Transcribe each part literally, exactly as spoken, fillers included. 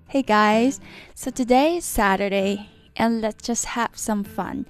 Hey guys, so today is Saturday and let's just have some fun.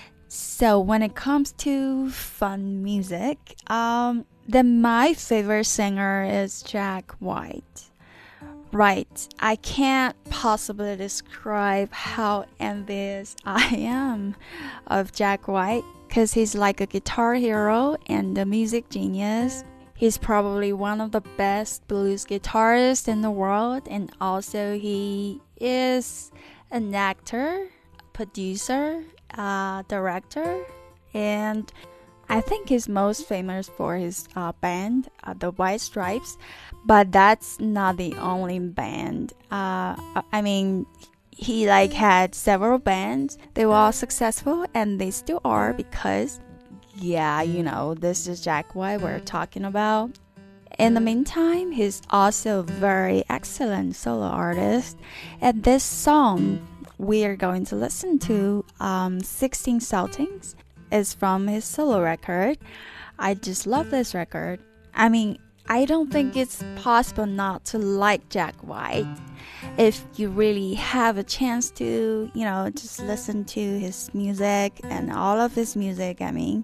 So when it comes to fun music, um, then my favorite singer is Jack White. Right, I can't possibly describe how envious I am of Jack White because he's like a guitar hero and a music genius. He's probably one of the best blues guitarists in the world, and also he is an actor, producer, uh, director, and I think he's most famous for his uh, band, uh, the White Stripes, but that's not the only band. Uh, I mean, he like had several bands. They were all successful, and they still are because yeah, you know, this is Jack White we're talking about. In the meantime, he's also a very excellent solo artist. And this song we are going to listen to, um, sixteen Saltings, is from his solo record. I just love this record. I mean, I don't think it's possible not to like Jack White. If you really have a chance to, you know, just listen to his music and all of his music, I mean,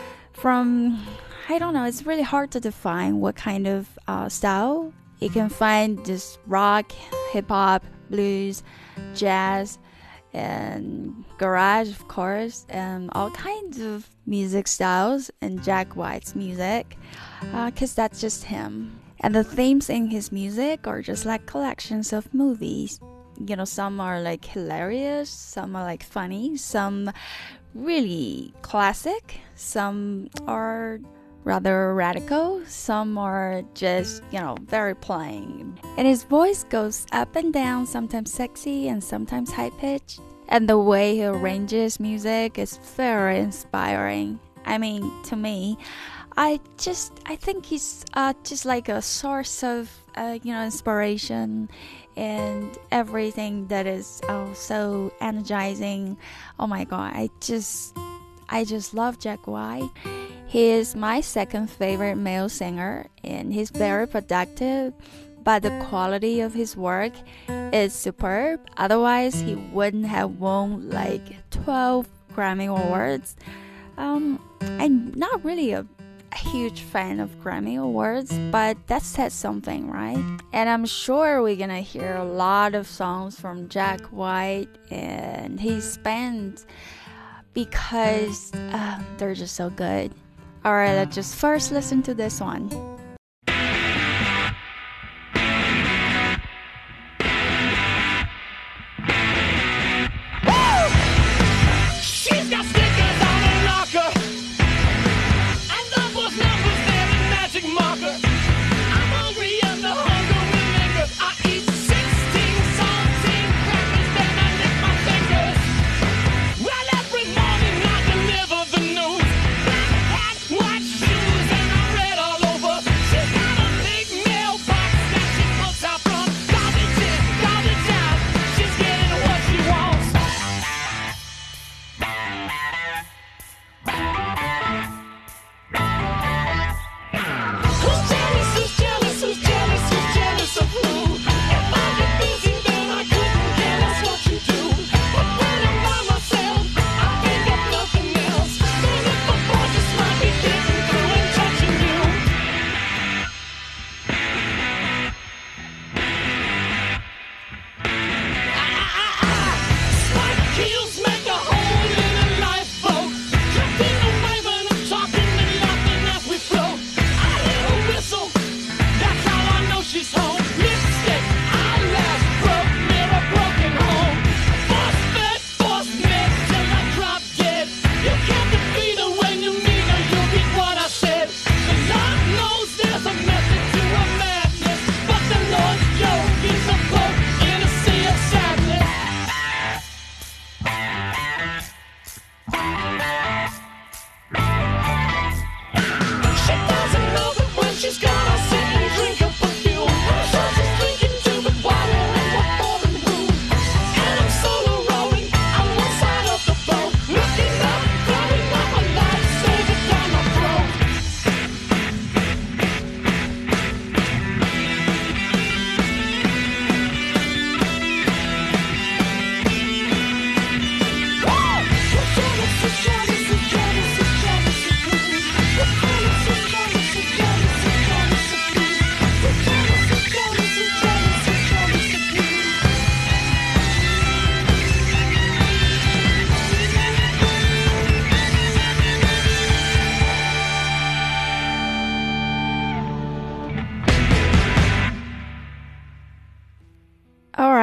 from, I don't know, it's really hard to define what kind of uh, style. You can find just rock, hip-hop, blues, jazz, and garage, of course, and all kinds of music styles in Jack White's music, because uh, that's just him. And the themes in his music are just like collections of movies. You know, some are like hilarious, some are like funny, some really classic, some are rather radical, some are just, you know, very plain. And his voice goes up and down, sometimes sexy and sometimes high-pitched. And the way he arranges music is very inspiring. I mean, to me, I just, I think he's uh, just like a source of, uh, you know, inspiration and everything that is oh, so energizing. Oh my God, I just, I just love Jack White. He is my second favorite male singer, and he's very productive, but the quality of his work is superb. Otherwise, he wouldn't have won like twelve Grammy Awards. Um, I'm not really a huge fan of Grammy Awards, but that says something, right? And I'm sure we're gonna hear a lot of songs from Jack White and his band because uh, they're just so good. Alright, let's just first listen to this one. White shoes and I read all over.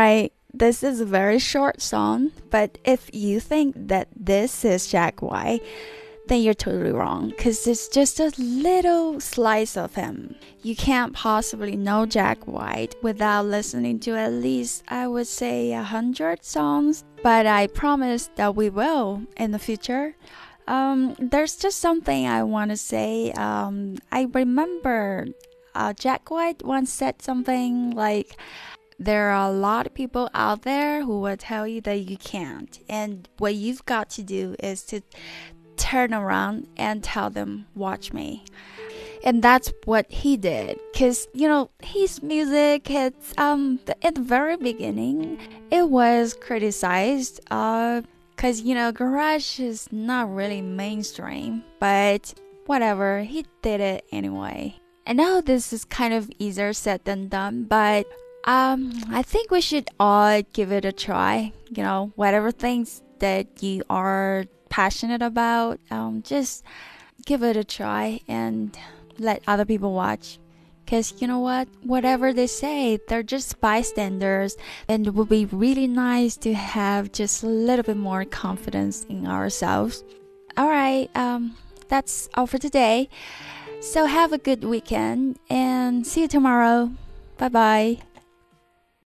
Alright, this is a very short song, but if you think that this is Jack White, then you're totally wrong, because it's just a little slice of him. You can't possibly know Jack White without listening to at least, I would say, a hundred songs, but I promise that we will in the future. Um, there's just something I want to say. Um, I remember uh, Jack White once said something like, there are a lot of people out there who will tell you that you can't, and what you've got to do is to turn around and tell them, watch me. And that's what he did, because you know his music, it's um at the very beginning it was criticized uh because you know garage is not really mainstream, but whatever, he did it anyway. I know this is kind of easier said than done, but um I think we should all give it a try. You know, whatever things that you are passionate about, um, just give it a try and let other people watch, because you know what, whatever they say, they're just bystanders, and it would be really nice to have just a little bit more confidence in ourselves. Alright, um, that's all for today, so have a good weekend and see you tomorrow. Bye bye.